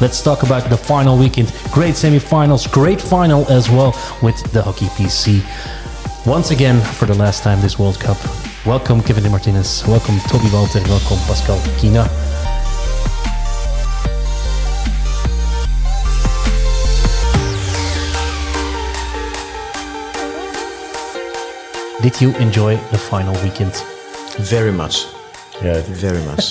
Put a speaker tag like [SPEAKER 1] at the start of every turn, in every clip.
[SPEAKER 1] Let's talk about the final weekend. Great semi-finals, great final as well with the Hockey PC. Once again, for the last time this World Cup. Welcome Kevin De Martinez, welcome Toby Walter, welcome Pascal Kina. Did you enjoy the final weekend?
[SPEAKER 2] Very much.
[SPEAKER 3] Yeah,
[SPEAKER 2] very much.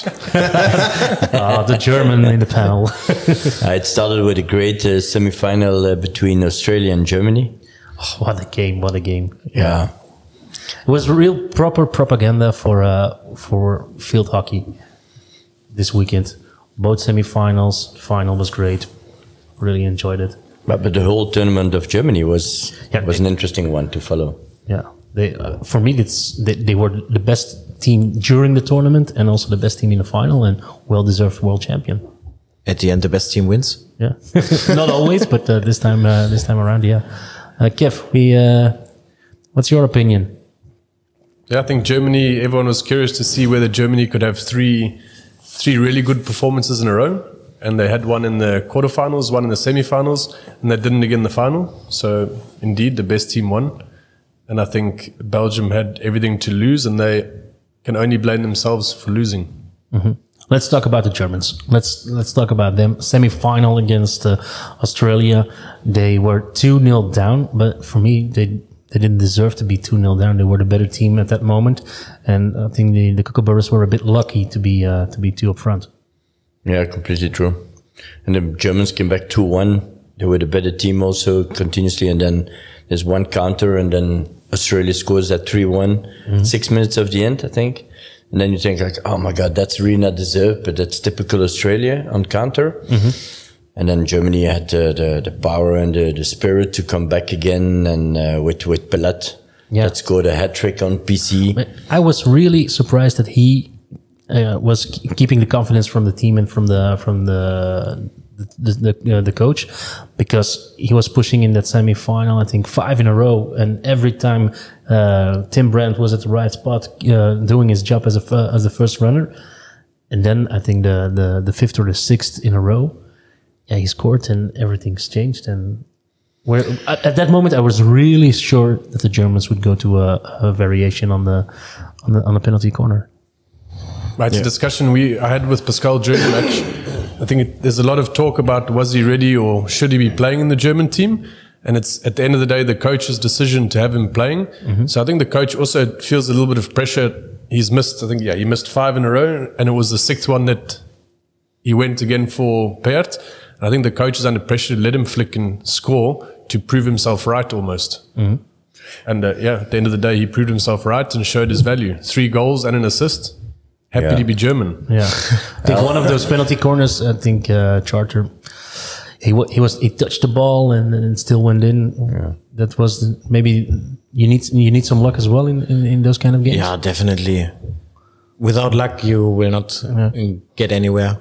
[SPEAKER 1] The German in the panel.
[SPEAKER 3] It started with a great semi-final between Australia and Germany.
[SPEAKER 1] Oh, what a game! What a game!
[SPEAKER 3] Yeah,
[SPEAKER 1] it was real proper propaganda for field hockey this weekend. Both semi-finals, final was great. Really enjoyed it.
[SPEAKER 3] But the whole tournament of Germany was an interesting one to follow.
[SPEAKER 1] Yeah. For me, they were the best team during the tournament and also the best team in the final and well-deserved world champion.
[SPEAKER 2] At the end, the best team wins.
[SPEAKER 1] Yeah, not always, but this time around, yeah. Kev, what's your opinion?
[SPEAKER 4] Yeah, I think Germany. Everyone was curious to see whether Germany could have three really good performances in a row, and they had one in the quarterfinals, one in the semi-finals, and they didn't again in the final. So, indeed, the best team won. And I think Belgium had everything to lose, and they can only blame themselves for losing.
[SPEAKER 1] Mm-hmm. Let's talk about the Germans. Let's talk about them. Semi-final against Australia. They were 2-0 down, but for me, they didn't deserve to be 2-0 down. They were the better team at that moment, and I think the Kookaburras were a bit lucky to be two up front.
[SPEAKER 3] Yeah, completely true. And the Germans came back 2-1. They were the better team also continuously, and then there's one counter, and then Australia scores at 3-1, 6 minutes of the end, I think. And then you think like, oh my God, that's really not deserved, but that's typical Australia on counter. Mm-hmm. And then Germany had the power and the spirit to come back again, and with Palat, that scored a hat trick on PC.
[SPEAKER 1] But I was really surprised that he was keeping the confidence from the team and from the coach, because he was pushing in that semi-final, I think 5 in a row, and every time Tim Brandt was at the right spot doing his job as the first runner, and then I think the 5th or the 6th in a row, he scored and everything's changed. And at that moment I was really sure that the Germans would go to a variation on the penalty corner.
[SPEAKER 4] Right, it's a discussion I had with Pascal during the match. I think there's a lot of talk about was he ready or should he be playing in the German team? And it's at the end of the day the coach's decision to have him playing. Mm-hmm. So I think the coach also feels a little bit of pressure. He missed 5 in a row, and it was the 6th one that he went again for Peart. And I think the coach is under pressure to let him flick and score to prove himself right almost. Mm-hmm. And at the end of the day he proved himself right and showed his value. 3 goals and an assist. Happy to be German.
[SPEAKER 1] Yeah, I think one of those penalty corners. I think Charter. He touched the ball and it still went in. Yeah. That was maybe you need some luck as well in those kind of games.
[SPEAKER 2] Yeah, definitely. Without luck, you will not get anywhere.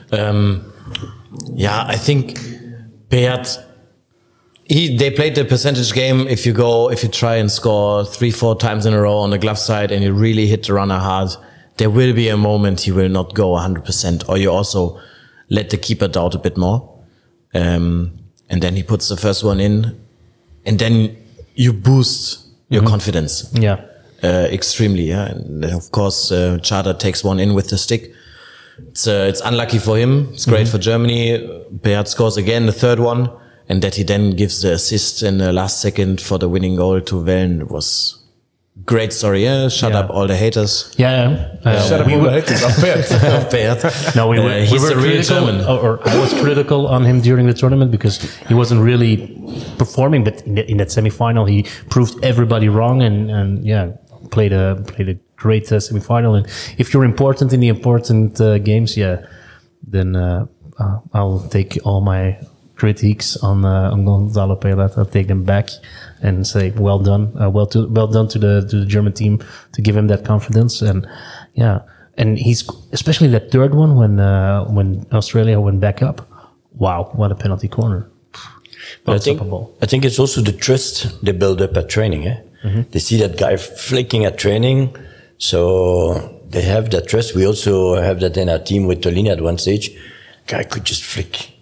[SPEAKER 2] I think Peart. They played the percentage game. If you try and score 3-4 times in a row on the glove side and you really hit the runner hard, there will be a moment he will not go 100%, or you also let the keeper doubt a bit more. And then he puts the first one in, and then you boost your confidence.
[SPEAKER 1] Yeah.
[SPEAKER 2] Extremely, yeah. And of course, Charter takes one in with the stick. It's unlucky for him. It's great for Germany. Peart scores again, the 3rd one, and that he then gives the assist in the last second for the winning goal to Wellen was great story. Yeah? Shut up all the haters.
[SPEAKER 1] Yeah.
[SPEAKER 4] Shut up all the haters of
[SPEAKER 2] Peart.
[SPEAKER 1] No, we were
[SPEAKER 2] real German.
[SPEAKER 1] Or I was critical on him during the tournament because he wasn't really performing, but in that semi-final he proved everybody wrong and played a great semi-final. And if you're important in the important games, then I'll take all my critiques on Gonzalo Pelat. I'll take them back and say well done to the German team to give him that confidence. And and he's especially that 3rd one when Australia went back up. Wow, what a penalty corner!
[SPEAKER 3] But I think it's also the trust they build up at training. Mm-hmm. They see that guy flicking at training, so they have that trust. We also have that in our team with Tolini at one stage. Guy could just flick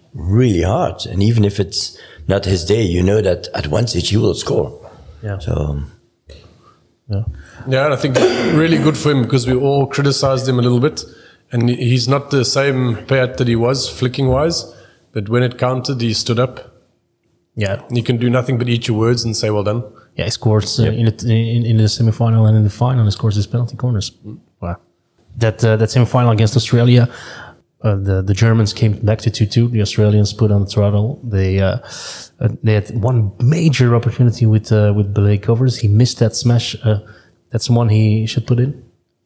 [SPEAKER 3] really hard. And even if it's not his day, you know that at one stage he will score.
[SPEAKER 1] Yeah.
[SPEAKER 3] So,
[SPEAKER 4] Yeah, and I think really good for him because we all criticized him a little bit. And he's not the same Payet that he was, flicking-wise. But when it counted, he stood up.
[SPEAKER 1] Yeah.
[SPEAKER 4] You can do nothing but eat your words and say, well done.
[SPEAKER 1] Yeah, he scores in the semi-final and in the final. He scores his penalty corners. Wow. That semi-final against Australia, the Germans came back to 2-2. The Australians put on the throttle. They had one major opportunity with Blake Covers. He missed that smash. That's one he should put in.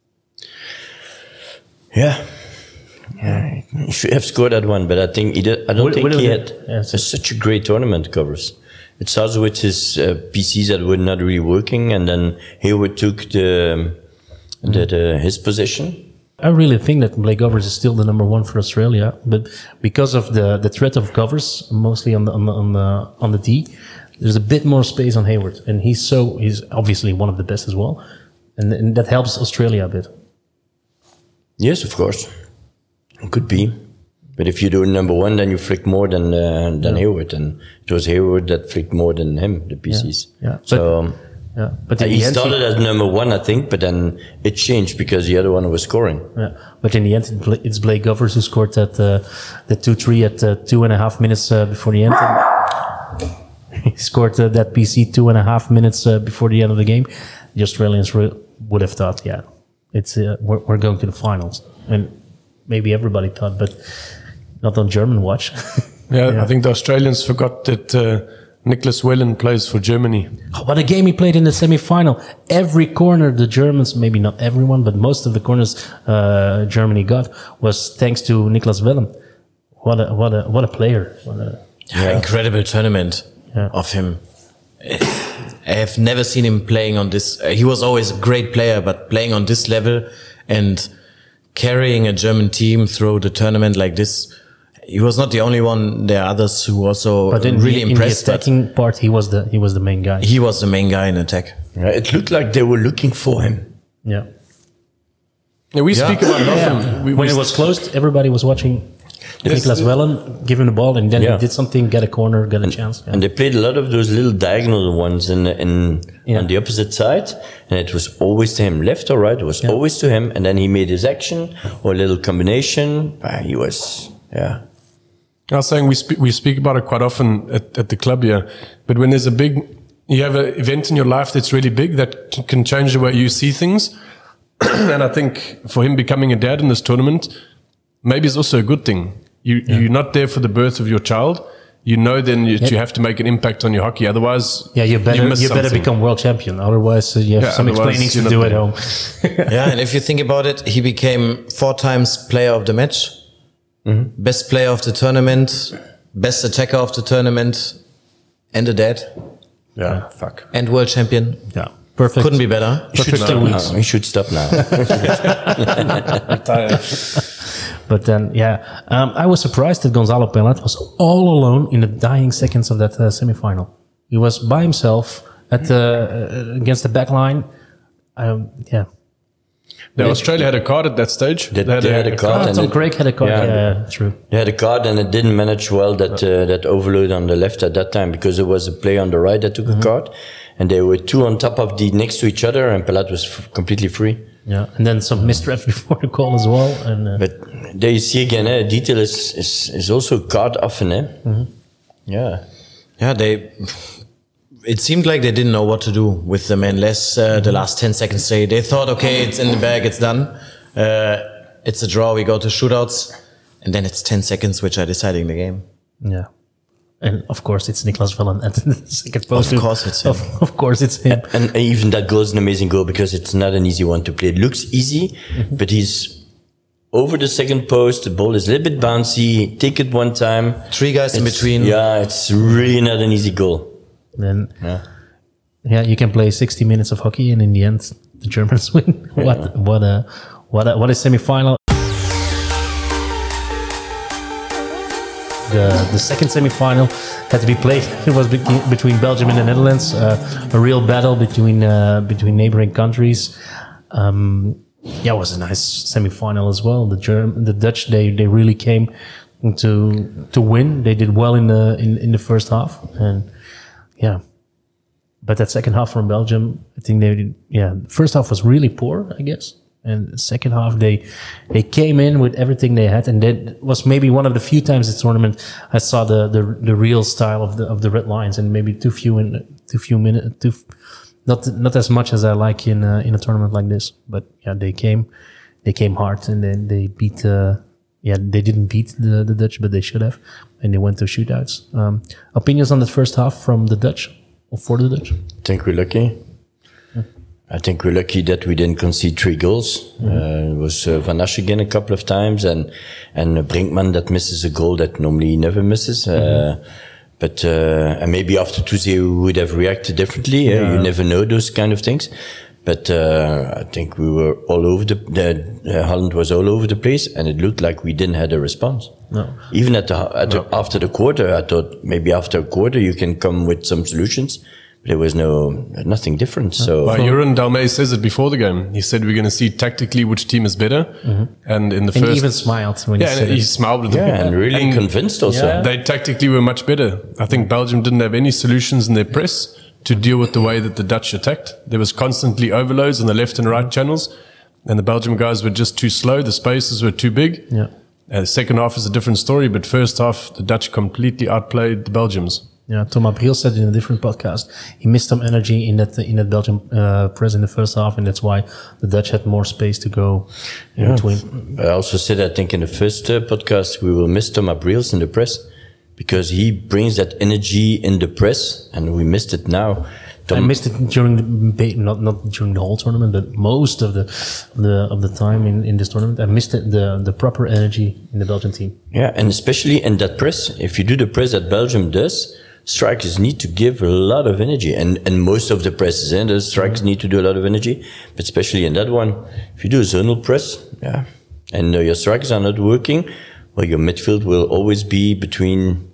[SPEAKER 3] yeah. He should have scored that one, but I think I don't think he had such a great tournament, Covers. It started with his PCs that were not really working, and then Hayward took his position.
[SPEAKER 1] I really think that Blake Covers is still the number one for Australia, but because of the threat of Covers, mostly on the D, there's a bit more space on Hayward, and he's obviously one of the best as well, and that helps Australia a bit.
[SPEAKER 3] Yes, of course. It could be. But if you do number one, then you flick more than Hayward, and it was Hayward that flicked more than him, the PCs.
[SPEAKER 1] Yeah.
[SPEAKER 3] So
[SPEAKER 1] But in
[SPEAKER 3] he
[SPEAKER 1] the end,
[SPEAKER 3] started as number one, I think, but then it changed because the other one was scoring.
[SPEAKER 1] Yeah, but in the end, it's Blake Covers who scored that 2-3 at 2.5 minutes before the end. He scored that PC 2.5 minutes before the end of the game. The Australians would have thought, it's we're going to the finals, and maybe everybody thought, but not on German watch.
[SPEAKER 4] Yeah, I think the Australians forgot that Nicholas Wellen plays for Germany.
[SPEAKER 1] What a game he played in the semi-final. Every corner the Germans, maybe not everyone, but most of the corners Germany got was thanks to Nicholas Wellen. What a player.
[SPEAKER 2] Incredible tournament of him. I have never seen him playing on this. He was always a great player, but playing on this level and carrying a German team through the tournament like this, he was not the only one. There are others who also really impressed.
[SPEAKER 1] In the attacking part, he was the main guy.
[SPEAKER 2] He was the main guy in attack.
[SPEAKER 3] Right? It looked like they were looking for him.
[SPEAKER 1] Yeah.
[SPEAKER 4] We speak about it often.
[SPEAKER 1] When it was closed, everybody was watching Nicholas Wellen give him the ball, and then he did something, get a corner, get a chance. Yeah.
[SPEAKER 3] And they played a lot of those little diagonal ones on the opposite side, and it was always to him, left or right. It was always to him, and then he made his action or a little combination. He was, I
[SPEAKER 4] was saying we speak about it quite often at the club here, but when there's you have an event in your life that's really big that can change the way you see things, and I think for him becoming a dad in this tournament, maybe it's also a good thing. You're not there for the birth of your child. You know then that you have to make an impact on your hockey. Otherwise,
[SPEAKER 1] you better become world champion. Otherwise, you have some explaining to do at home.
[SPEAKER 2] And if you think about it, he became 4 times player of the match, best player of the tournament, best attacker of the tournament, and a dad.
[SPEAKER 4] Yeah, fuck.
[SPEAKER 2] And world champion.
[SPEAKER 1] Yeah, perfect.
[SPEAKER 2] Couldn't be better.
[SPEAKER 1] Perfect 2 weeks.
[SPEAKER 3] He should stop now.
[SPEAKER 1] But then, I was surprised that Gonzalo Payet was all alone in the dying seconds of that semi-final. He was by himself against the back line.
[SPEAKER 3] Australia
[SPEAKER 4] had a card at that stage.
[SPEAKER 3] They had a card.
[SPEAKER 1] Tom Craig had a card. Yeah, true.
[SPEAKER 3] They had a card, and it didn't manage well that overload on the left at that time, because there was a player on the right that took a card, and they were 2 on top of next to each other, and Payet was completely free.
[SPEAKER 1] Yeah, and then some misref before the call as well. And
[SPEAKER 3] but there you see again, detail is also card often. Yeah.
[SPEAKER 2] It seemed like they didn't know what to do with them unless the last 10 seconds they thought, okay, it's in the bag, it's done. It's a draw, we go to shootouts, and then it's 10 seconds which are deciding the game.
[SPEAKER 1] Yeah. And of course, it's Nicholas Wellen at the second post.
[SPEAKER 2] Of course, it's him.
[SPEAKER 1] Of course, it's him.
[SPEAKER 3] And even that goal is an amazing goal, because it's not an easy one to play. It looks easy, but he's over the second post. The ball is a little bit bouncy. Take it one time.
[SPEAKER 2] 3 guys in between.
[SPEAKER 3] Yeah, it's really not an easy goal.
[SPEAKER 1] Then, you can play 60 minutes of hockey, and in the end, the Germans win. What a semi-final! The second semi-final had to be played. It was between Belgium and the Netherlands, a real battle between neighboring countries. It was a nice semi-final as well. The Dutch, they really came to win. They did well in the first half, and yeah. But that second half from Belgium, I think first half was really poor, I guess. And the second half, they came in with everything they had, and that was maybe one of the few times this tournament I saw the real style of the Red Lions, and maybe too few minutes, not as much as I like in a tournament like this. But yeah, they came hard, and then they beat. They didn't beat the Dutch, but they should have, and they went to shootouts. Opinions on the first half from the Dutch? Or for the Dutch?
[SPEAKER 3] I think we're lucky. I think we're lucky that we didn't concede 3 goals. It was Van Asch again a couple of times, and Brinkman that misses a goal that normally he never misses. But and maybe after Tuesday we would have reacted differently. You never know those kind of things. But I think we were all over Holland was all over the place, and it looked like we didn't have a response.
[SPEAKER 1] No.
[SPEAKER 3] Even after the quarter, I thought maybe after a quarter you can come with some solutions. But there was nothing different. So
[SPEAKER 4] Jeroen Dalmey says it before the game. He said we're going to see tactically which team is better. And in the first,
[SPEAKER 1] he even smiled when he said
[SPEAKER 4] he
[SPEAKER 1] it.
[SPEAKER 4] smiled.
[SPEAKER 3] and really convinced also.
[SPEAKER 1] Yeah.
[SPEAKER 4] They tactically were much better. I think Belgium didn't have any solutions in their press to deal with the way that the Dutch attacked. There was constantly overloads on the left and right channels, and the Belgium guys were just too slow. The spaces were too big.
[SPEAKER 1] Yeah.
[SPEAKER 4] The second half is a different story, but first half, the Dutch completely outplayed the Belgians.
[SPEAKER 1] Yeah, Thomas Briel said in a different podcast he missed some energy in that Belgium press in the first half, and that's why the Dutch had more space to go in between.
[SPEAKER 3] I also said, I think in the first podcast, we will miss Thomas Briels in the press because he brings that energy in the press, and we missed it now.
[SPEAKER 1] I missed it during not during the whole tournament, but most of the time in this tournament. I missed the proper energy in the Belgian team.
[SPEAKER 3] Yeah, and especially in that press, if you do the press that Belgium does, strikers need to give a lot of energy, and most of the presses, the strikers need to do a lot of energy, but especially in that one, if you do a zonal press, and your strikers are not working, well, your midfield will always be between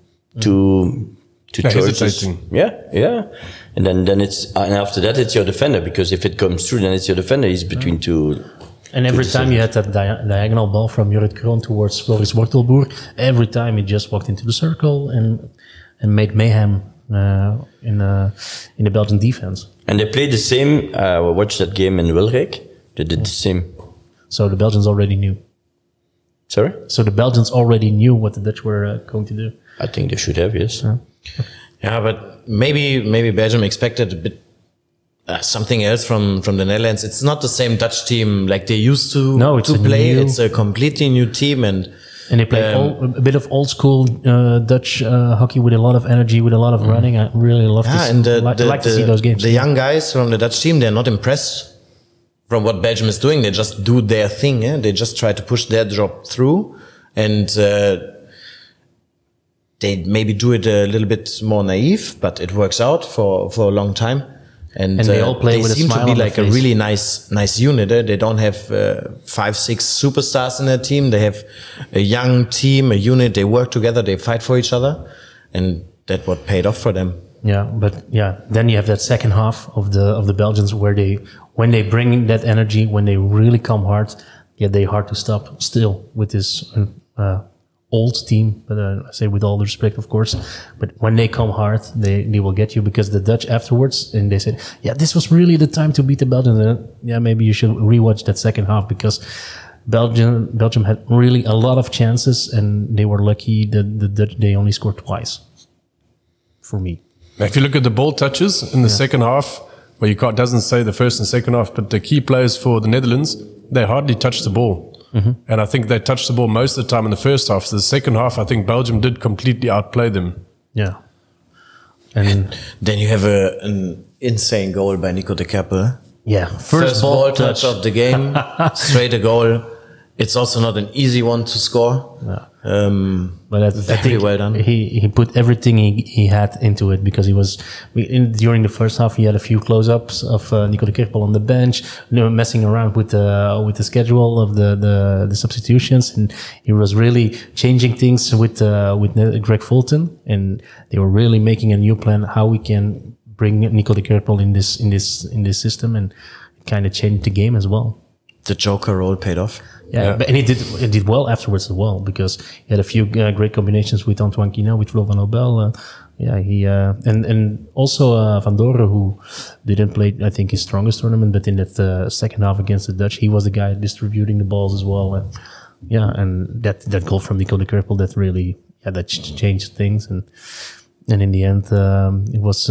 [SPEAKER 3] two choices.
[SPEAKER 4] Hesitating.
[SPEAKER 3] Yeah. And then and after that it's your defender, because if it comes through, then it's your defender. He's between two.
[SPEAKER 1] And every time you had that diagonal ball from Jorrit Kroon towards Floris Wortelboer, every time he just walked into the circle and made mayhem in the Belgian defense.
[SPEAKER 3] And they played the same. I watched that game in Wilrijk. They did the same.
[SPEAKER 1] So the Belgians already knew.
[SPEAKER 3] Sorry?
[SPEAKER 1] So the Belgians already knew what the Dutch were going to do.
[SPEAKER 3] I think they should have, yes.
[SPEAKER 2] Yeah, but maybe Belgium expected a bit something else from the Netherlands. It's not the same Dutch team like they used to play. It's a completely new team, and
[SPEAKER 1] they play a bit of old school Dutch hockey with a lot of energy, with a lot of running. I really love to see those games.
[SPEAKER 2] The young guys from the Dutch team, they're not impressed from what Belgium is doing. They just do their thing. They just try to push their job through, and they maybe do it a little bit more naive, but it works out for a long time. And
[SPEAKER 1] they all play with a smile on their face. They seem to be like
[SPEAKER 2] a really nice unit. They don't have 5-6 superstars in their team. They have a young team, a unit. They work together. They fight for each other, and that's what paid off for them.
[SPEAKER 1] Yeah, but then you have that second half of the Belgians where when they bring in that energy, when they really come hard, they're hard to stop still with this old team, but I say with all the respect, of course. But when they come hard, they will get you, because the Dutch afterwards, and they said, this was really the time to beat the Belgians. And maybe you should rewatch that second half, because Belgium had really a lot of chances, and they were lucky that the Dutch, they only scored twice. For me,
[SPEAKER 4] if you look at the ball touches in the second half, well, doesn't say the first and second half, but the key players for the Netherlands, they hardly touched the ball. Mm-hmm. And I think they touched the ball most of the time in the first half. So the second half, I think Belgium did completely outplay them.
[SPEAKER 1] Yeah. And
[SPEAKER 2] then you have an insane goal by Nico de Kerpel.
[SPEAKER 1] Yeah.
[SPEAKER 2] First ball touch of the game, straight a goal. It's also not an easy one to score. Yeah.
[SPEAKER 1] But I think
[SPEAKER 2] well done.
[SPEAKER 1] He put everything he had into it, because during the first half he had a few close-ups of Nico de Kerpel on the bench, messing around with the schedule of the substitutions, and he was really changing things with Greg Fulton, and they were really making a new plan how we can bring Nico de Kerpel in this system, and kind of change the game as well.
[SPEAKER 2] The Joker role paid off.
[SPEAKER 1] Yeah, but, and he did well afterwards as well, because he had a few great combinations with Antoine Quinault, with Flo van Nobel. And also Van Doren, who didn't play, I think, his strongest tournament, but in that second half against the Dutch, he was the guy distributing the balls as well. And that goal from Nico de Kerpel, that really that changed things. And in the end, it was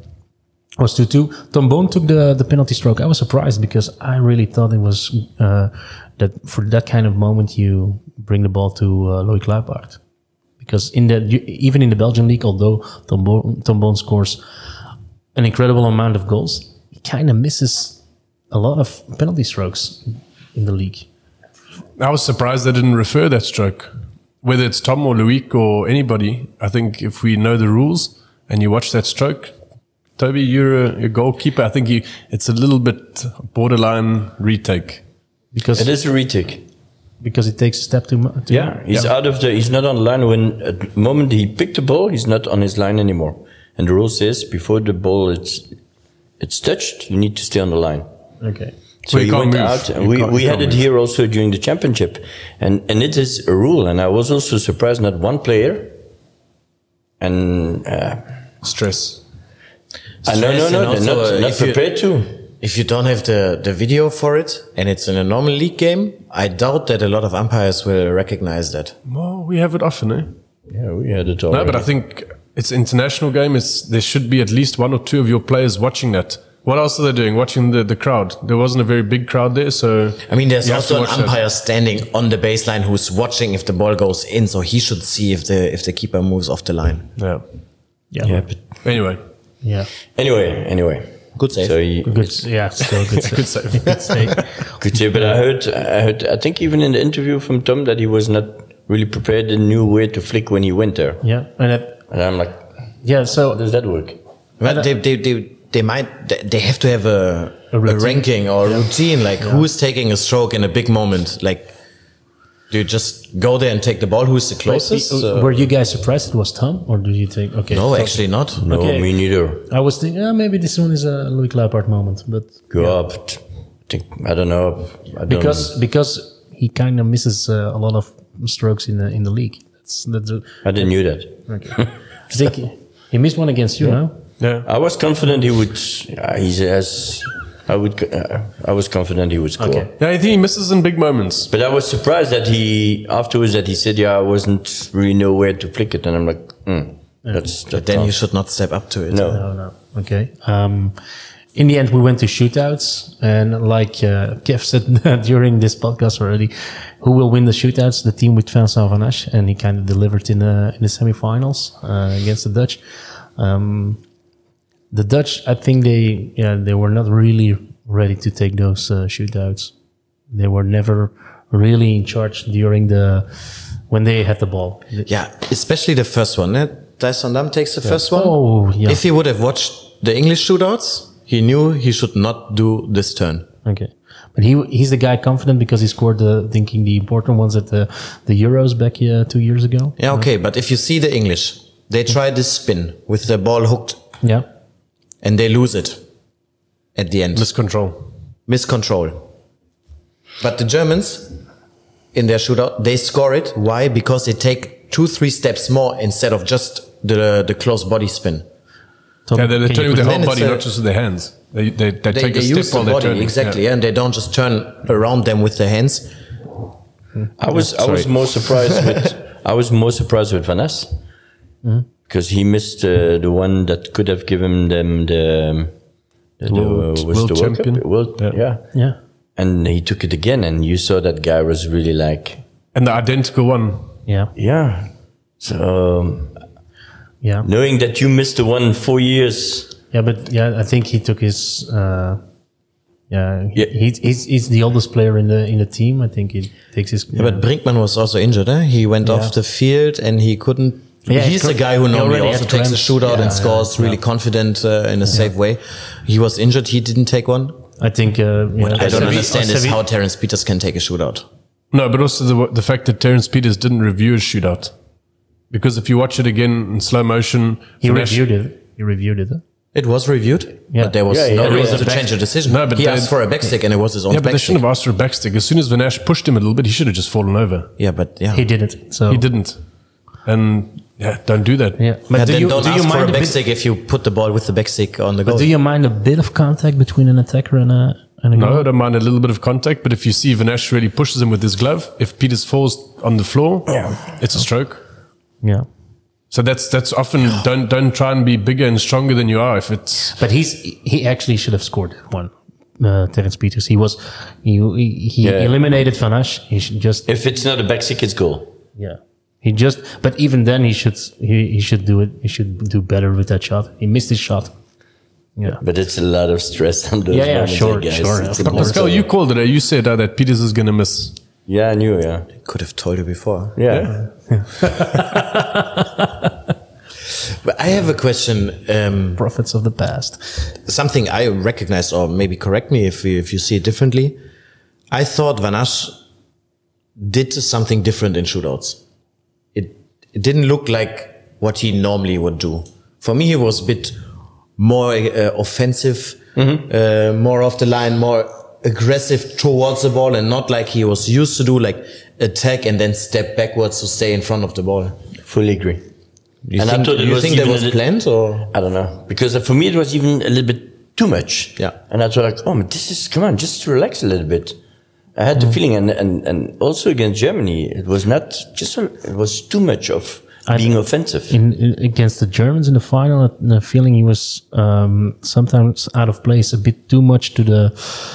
[SPEAKER 1] 2-2. Tom Boon took the penalty stroke. I was surprised, because I really thought it was that for that kind of moment you bring the ball to Loïc Luipaard. Because even in the Belgian league, although Tom Boon scores an incredible amount of goals, he kind of misses a lot of penalty strokes in the league.
[SPEAKER 4] I was surprised they didn't refer that stroke. Whether it's Tom or Loïc or anybody, I think if we know the rules and you watch that stroke, Toby, you're a goalkeeper. I think it's a little bit borderline retake.
[SPEAKER 1] Because
[SPEAKER 3] it is a retake.
[SPEAKER 1] Because it takes a step too much.
[SPEAKER 3] Yeah, he's he's not on the line. When at the moment he picked the ball, he's not on his line anymore. And the rule says before the ball it's touched, you need to stay on the line.
[SPEAKER 1] Okay.
[SPEAKER 3] So he went out, and we had it here also during the championship, and it is a rule. And I was also surprised, not one player. And
[SPEAKER 4] stress.
[SPEAKER 3] No, they're not prepared to.
[SPEAKER 2] If you don't have the video for it, and it's in a normal league game, I doubt that a lot of umpires will recognize that.
[SPEAKER 4] Well, we have it often, eh?
[SPEAKER 3] Yeah, we had it already.
[SPEAKER 4] No, but I think it's an international game. There should be at least one or two of your players watching that. What else are they doing? Watching the crowd. There wasn't a very big crowd there, so...
[SPEAKER 2] I mean, there's also an umpire standing on the baseline who's watching if the ball goes in, so he should see if the keeper moves off the line.
[SPEAKER 3] Yeah. But
[SPEAKER 4] anyway.
[SPEAKER 1] Yeah.
[SPEAKER 3] Anyway.
[SPEAKER 2] Good save.
[SPEAKER 3] So
[SPEAKER 1] still good save.
[SPEAKER 4] Good save.
[SPEAKER 1] Good save.
[SPEAKER 3] Good save. But I heard, I think even in the interview from Tom that he was not really prepared and knew where to flick when he went there.
[SPEAKER 1] Yeah. And
[SPEAKER 3] I'm like,
[SPEAKER 1] so
[SPEAKER 3] how does that work?
[SPEAKER 2] Well, they have to have a ranking or a routine, like who's taking a stroke in a big moment. Like, do you just go there and take the ball? Who's the closest?
[SPEAKER 1] Were you guys surprised it was Tom, or do you think? Okay,
[SPEAKER 2] no, actually not.
[SPEAKER 3] No, me neither.
[SPEAKER 1] I was thinking maybe this one is a Loïc Luipaard moment, but
[SPEAKER 3] I don't know.
[SPEAKER 1] Because he kind of misses a lot of strokes in the league.
[SPEAKER 3] I didn't knew that.
[SPEAKER 1] Okay. I think he missed one against you, no?
[SPEAKER 4] Yeah,
[SPEAKER 3] I was confident he would. I was confident he would score.
[SPEAKER 1] Okay.
[SPEAKER 4] Yeah, I think he misses in big moments.
[SPEAKER 3] But I was surprised that he said, I wasn't really know where to flick it, and I'm like, that's.
[SPEAKER 2] But then you should not step up to it.
[SPEAKER 1] No. Okay. In the end, we went to shootouts, and like Kev said during this podcast already, who will win the shootouts? The team with Vincent Van Asch, and he kind of delivered in the semifinals against the Dutch. The Dutch, I think they were not really ready to take those shootouts. They were never really in charge when they had the ball.
[SPEAKER 2] Yeah, especially the first one. Thijs van Dam takes the first one.
[SPEAKER 1] Oh, yeah.
[SPEAKER 2] If he would have watched the English shootouts, he knew he should not do this turn.
[SPEAKER 1] Okay. But he's the guy confident because he scored the important ones at the Euros back 2 years ago.
[SPEAKER 2] Yeah, okay. But if you see the English, they try this spin with the ball hooked.
[SPEAKER 1] Yeah.
[SPEAKER 2] And they lose it at the end. Miscontrol. But the Germans, in their shootout, they score it. Why? Because they take 2-3 steps more instead of just the close body spin.
[SPEAKER 4] They're turning with their whole body, not just with their hands. They take a step while they're turning.
[SPEAKER 2] Exactly, and they don't just turn around them with their hands.
[SPEAKER 3] I was more surprised with Van Asch. Because he missed the one that could have given them the
[SPEAKER 4] world champion.
[SPEAKER 3] Yeah. And he took it again, and you saw that guy was really like...
[SPEAKER 4] And the identical one.
[SPEAKER 1] Yeah.
[SPEAKER 3] Yeah. So...
[SPEAKER 1] yeah.
[SPEAKER 3] Knowing that you missed the one 4 years...
[SPEAKER 1] Yeah, but I think he took his... He's the oldest player in the team. I think he takes his...
[SPEAKER 2] Yeah, but Brinkman was also injured, eh? He went off the field, and he couldn't... Yeah, he's a guy who normally also takes a shootout and scores really confident in a safe way. He was injured. He didn't take one.
[SPEAKER 1] I think...
[SPEAKER 2] what I don't understand is how Terence Peters can take a shootout.
[SPEAKER 4] No, but also the fact that Terence Peters didn't review his shootout. Because if you watch it again in slow motion...
[SPEAKER 1] He reviewed it.
[SPEAKER 2] Yeah, It was reviewed,
[SPEAKER 1] Yeah.
[SPEAKER 2] but there was
[SPEAKER 3] Yeah,
[SPEAKER 2] no
[SPEAKER 3] yeah,
[SPEAKER 2] reason
[SPEAKER 3] it was
[SPEAKER 2] to
[SPEAKER 1] a
[SPEAKER 2] change the decision.
[SPEAKER 4] No, but
[SPEAKER 2] he
[SPEAKER 4] they-
[SPEAKER 2] asked for a back stick, and it was his own
[SPEAKER 4] Yeah, but
[SPEAKER 2] back
[SPEAKER 4] they
[SPEAKER 2] stick.
[SPEAKER 4] shouldn't have asked for a back stick. As soon as Van Asch pushed him a little bit, he should have just fallen over.
[SPEAKER 2] Yeah, but yeah.
[SPEAKER 1] He did it. So
[SPEAKER 4] He didn't. And yeah, don't do that.
[SPEAKER 1] Yeah, but
[SPEAKER 2] Yeah,
[SPEAKER 1] do
[SPEAKER 2] then
[SPEAKER 1] you
[SPEAKER 2] don't
[SPEAKER 1] do you
[SPEAKER 2] ask for a
[SPEAKER 1] mind a
[SPEAKER 2] back
[SPEAKER 1] bit?
[SPEAKER 2] stick if you put the ball with the back stick on the goal.
[SPEAKER 1] But do you mind a bit of contact between an attacker and a
[SPEAKER 4] No,
[SPEAKER 1] goal?
[SPEAKER 4] I don't mind a little bit of contact, but if you see Van Asch really pushes him with his glove, if Peters falls on the floor, it's a stroke.
[SPEAKER 1] Yeah,
[SPEAKER 4] So that's often don't try and be bigger and stronger than you are. If it's
[SPEAKER 1] but he actually should have scored that one. Terence Peters. He
[SPEAKER 3] Yeah.
[SPEAKER 1] eliminated Van Asch. He should just
[SPEAKER 3] If it's not a back stick, it's goal.
[SPEAKER 1] yeah. He just but even then he should do it. He should do better with that shot. He missed his shot. Yeah.
[SPEAKER 3] But it's a lot of stress on those
[SPEAKER 1] Yeah,
[SPEAKER 3] moments,
[SPEAKER 1] sure,
[SPEAKER 3] guys.
[SPEAKER 1] sure,
[SPEAKER 3] It's
[SPEAKER 1] of
[SPEAKER 3] a
[SPEAKER 1] course.
[SPEAKER 3] lot.
[SPEAKER 4] Pascal, you called it. You said that Peters is going to miss.
[SPEAKER 3] Yeah, I knew, yeah.
[SPEAKER 2] could have told you before.
[SPEAKER 3] Yeah.
[SPEAKER 2] But I have a question.
[SPEAKER 1] Prophets of the past.
[SPEAKER 2] Something I recognize, or maybe correct me if you see it differently. I thought Van Asch did something different in shootouts. It didn't look like what he normally would do. For me, he was a bit more offensive, more off the line, more aggressive towards the ball, and not like he was used to do, like attack and then step backwards to stay in front of the ball.
[SPEAKER 3] Fully agree.
[SPEAKER 2] You
[SPEAKER 3] And I
[SPEAKER 2] think,
[SPEAKER 3] thought it
[SPEAKER 2] you
[SPEAKER 3] was
[SPEAKER 2] think that
[SPEAKER 3] even
[SPEAKER 2] was
[SPEAKER 3] a little-
[SPEAKER 2] planned, or?
[SPEAKER 3] I don't know. Because for me, it was even a little bit too much.
[SPEAKER 2] Yeah.
[SPEAKER 3] And I thought, like, oh, man, come on, just relax a little bit. I had the feeling, and also against Germany, it was not just, it was too much of being offensive.
[SPEAKER 1] In against the Germans in the final, the feeling he was sometimes out of place, a bit too much to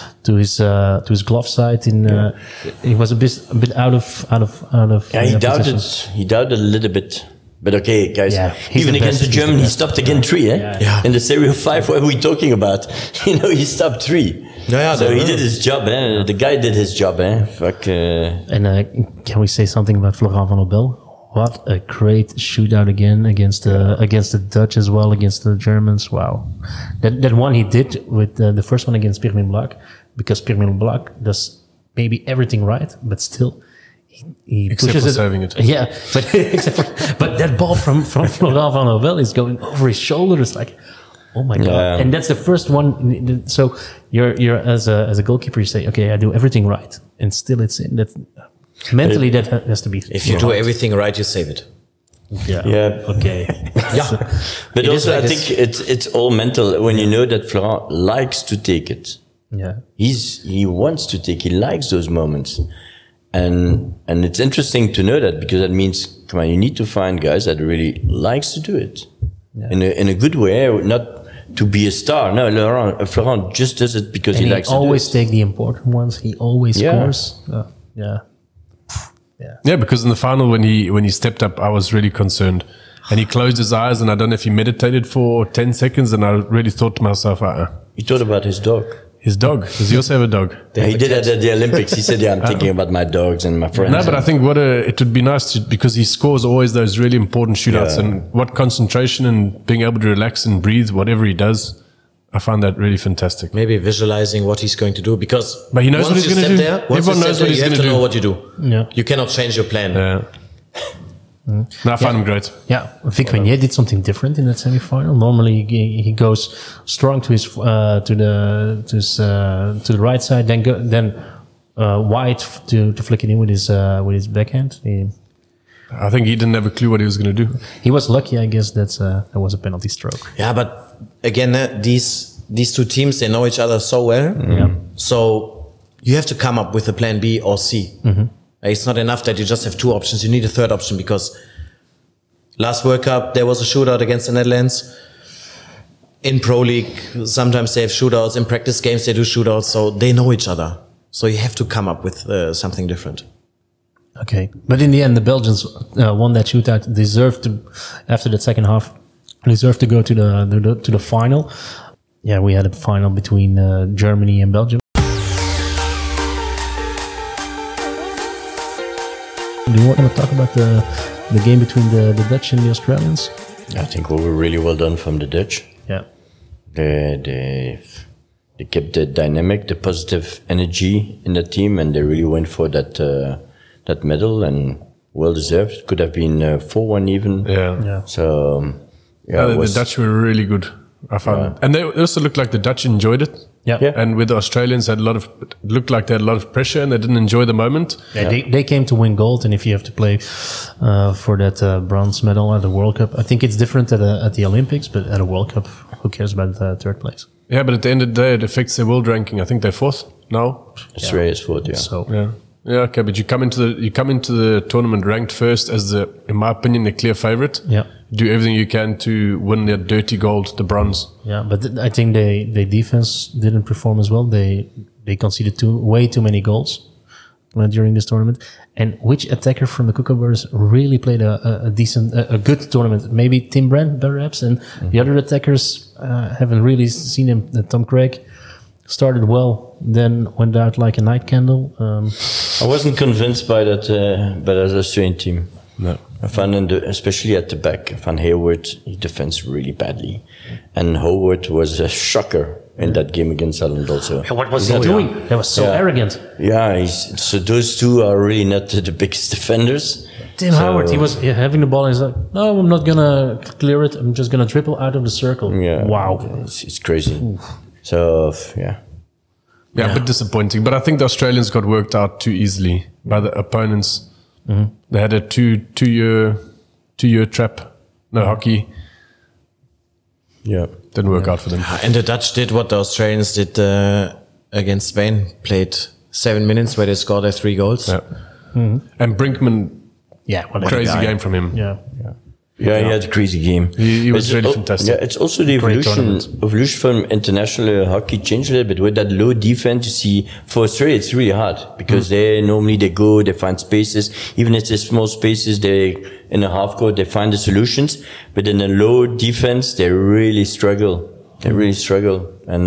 [SPEAKER 1] his glove side. He was a bit out of.
[SPEAKER 3] Yeah, he doubted.
[SPEAKER 1] position.
[SPEAKER 3] He doubted a little bit. But okay, guys.
[SPEAKER 1] Yeah, he's
[SPEAKER 3] even
[SPEAKER 1] the
[SPEAKER 3] against
[SPEAKER 1] best,
[SPEAKER 3] the
[SPEAKER 1] he's the
[SPEAKER 3] German, he
[SPEAKER 1] best.
[SPEAKER 3] stopped again 3. Eh?
[SPEAKER 1] Yeah.
[SPEAKER 3] In the Serie of 5, what are we talking about? He stopped 3.
[SPEAKER 2] Yeah,
[SPEAKER 3] so he
[SPEAKER 2] yeah.
[SPEAKER 3] did his job. Eh? The guy did his job. Eh? Fuck.
[SPEAKER 1] And can we say something about Florent Van Obel? What a great shootout again against the Dutch as well, against the Germans. Wow, that one he did with the first one against Pirmin Black, because Pirmin Black does maybe everything right, but still he
[SPEAKER 4] Except
[SPEAKER 1] pushes
[SPEAKER 4] for
[SPEAKER 1] it.
[SPEAKER 4] serving it.
[SPEAKER 1] Yeah, but but that ball from Florent Van Obel is going over his shoulder. It's like, oh my god!
[SPEAKER 3] Yeah.
[SPEAKER 1] And that's the first one. So you're as a goalkeeper, you say, okay, I do everything right, and still it's in that. Mentally, that has to be.
[SPEAKER 2] If you do everything right, you save it.
[SPEAKER 1] Yeah.
[SPEAKER 3] Yeah.
[SPEAKER 1] Okay.
[SPEAKER 2] Yeah.
[SPEAKER 3] But
[SPEAKER 2] It is
[SPEAKER 3] also,
[SPEAKER 2] like
[SPEAKER 3] I
[SPEAKER 2] this.
[SPEAKER 3] think it's all mental when you know that Florent likes to take it.
[SPEAKER 1] Yeah.
[SPEAKER 3] He wants to take. He likes those moments, and it's interesting to know that, because that means, come on, you need to find guys that really likes to do it in a good way, not to be a star. No, Florent just does it because
[SPEAKER 1] And
[SPEAKER 3] he
[SPEAKER 1] he
[SPEAKER 3] likes
[SPEAKER 1] always
[SPEAKER 3] to do it.
[SPEAKER 1] take the important ones. He always
[SPEAKER 3] Yeah.
[SPEAKER 1] scores. Yeah.
[SPEAKER 4] Yeah, because in the final when he stepped up, I was really concerned, and he closed his eyes, and I don't know if he meditated for 10 seconds, and I really thought to myself,
[SPEAKER 3] He thought about his dog.
[SPEAKER 4] his dog. Does he also have a dog?
[SPEAKER 3] Yeah, he did that at the Olympics. He said, "Yeah, I'm thinking about my dogs and my friends."
[SPEAKER 4] No, but I think it would be nice because he scores always those really important shootouts,
[SPEAKER 3] Yeah.
[SPEAKER 4] and what concentration and being able to relax and breathe, whatever he does, I find that really fantastic.
[SPEAKER 2] Maybe visualizing what he's going to do, because
[SPEAKER 4] But he knows what
[SPEAKER 2] once
[SPEAKER 4] he's
[SPEAKER 2] you
[SPEAKER 4] gonna
[SPEAKER 2] step
[SPEAKER 4] do.
[SPEAKER 2] there, once
[SPEAKER 4] Everyone
[SPEAKER 2] you
[SPEAKER 4] knows
[SPEAKER 2] step
[SPEAKER 4] what
[SPEAKER 2] there,
[SPEAKER 4] he's
[SPEAKER 2] you have
[SPEAKER 4] gonna
[SPEAKER 2] to know
[SPEAKER 4] do.
[SPEAKER 2] what you do.
[SPEAKER 1] Yeah.
[SPEAKER 2] You cannot change your plan.
[SPEAKER 4] No, I find him great.
[SPEAKER 1] Yeah. Vic Meunier did something different in that semifinal. Normally he goes strong to his to the right side, then wide to flick it in with his backhand.
[SPEAKER 4] I think he didn't have a clue what he was going to do.
[SPEAKER 1] He was lucky, I guess. That was a penalty stroke.
[SPEAKER 2] Yeah, but again, these two teams, they know each other so well.
[SPEAKER 1] Yeah.
[SPEAKER 2] So you have to come up with a plan B or C. It's not enough that you just have two options. You need a third option, because last World Cup, there was a shootout against the Netherlands. In Pro League, sometimes they have shootouts. In practice games, they do shootouts. So they know each other. So you have to come up with something different.
[SPEAKER 1] Okay, but in the end, the Belgians won that shootout. Deserved to, after the second half, deserved to go to the final. Yeah, we had a final between Germany and Belgium. Do you want to talk about the game between the Dutch and the Australians?
[SPEAKER 3] I think we were really well done from the Dutch.
[SPEAKER 1] Yeah.
[SPEAKER 3] They kept the dynamic, the positive energy in the team, and they really went for that medal, and well deserved. Could have been 4-1 even.
[SPEAKER 4] Yeah.
[SPEAKER 1] Yeah.
[SPEAKER 3] So
[SPEAKER 4] The Dutch were really good. I found, and they also looked like the Dutch enjoyed it.
[SPEAKER 1] Yeah.
[SPEAKER 4] And with the Australians, had looked like they had a lot of pressure and they didn't enjoy the moment.
[SPEAKER 1] Yeah, they came to win gold, and if you have to play for that bronze medal at the World Cup, I think it's different at the Olympics, but at a World Cup, who cares about third place?
[SPEAKER 4] Yeah, but at the end of the day, it affects their world ranking. I think they're fourth now.
[SPEAKER 3] Australia's fourth, yeah.
[SPEAKER 1] So
[SPEAKER 4] Yeah, okay, but you come into the tournament ranked first as in my opinion, the clear favorite.
[SPEAKER 1] Yeah.
[SPEAKER 4] Do everything you can to win their dirty gold, the bronze.
[SPEAKER 1] yeah, but I think their defense didn't perform as well. They conceded way too many goals during this tournament. And which attacker from the Kookaburras really played a good tournament? Maybe Tim Brand, perhaps, and the other attackers haven't really seen him. Tom Craig started well, then went out like a night candle.
[SPEAKER 3] I wasn't convinced by that Australian team.
[SPEAKER 4] No.
[SPEAKER 3] I found, especially at the back, Van Hayward, he defends really badly. And Howard was a shocker in that game against Ireland also.
[SPEAKER 1] What was he doing? That was so arrogant.
[SPEAKER 3] Yeah, so those two are really not the biggest defenders.
[SPEAKER 1] Tim Howard, he was having the ball and he's like, no, I'm not going to clear it. I'm just going to dribble out of the circle.
[SPEAKER 3] Yeah.
[SPEAKER 1] Wow.
[SPEAKER 3] It's crazy. So, yeah.
[SPEAKER 4] Yeah, a bit disappointing. But I think the Australians got worked out too easily by the opponents. Mm-hmm. They had a two-year trap. No hockey.
[SPEAKER 3] Yeah.
[SPEAKER 4] Didn't work out for them.
[SPEAKER 2] And the Dutch did what the Australians did against Spain. Played 7 minutes where they scored their 3 goals.
[SPEAKER 4] Yeah. Mm-hmm. And Brinkman,
[SPEAKER 1] yeah,
[SPEAKER 4] crazy game from him.
[SPEAKER 1] Yeah.
[SPEAKER 3] Yeah, he had a crazy game.
[SPEAKER 4] He was really fantastic.
[SPEAKER 3] Yeah, it's also the evolution from international hockey changed a little bit. With that low defense, you see, for Australia, it's really hard because they find spaces. Even if there's small spaces, in a half court, they find the solutions. But in a low defense, they really struggle. And,